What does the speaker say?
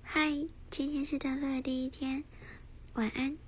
嗨，今天是登录的第一天，晚安。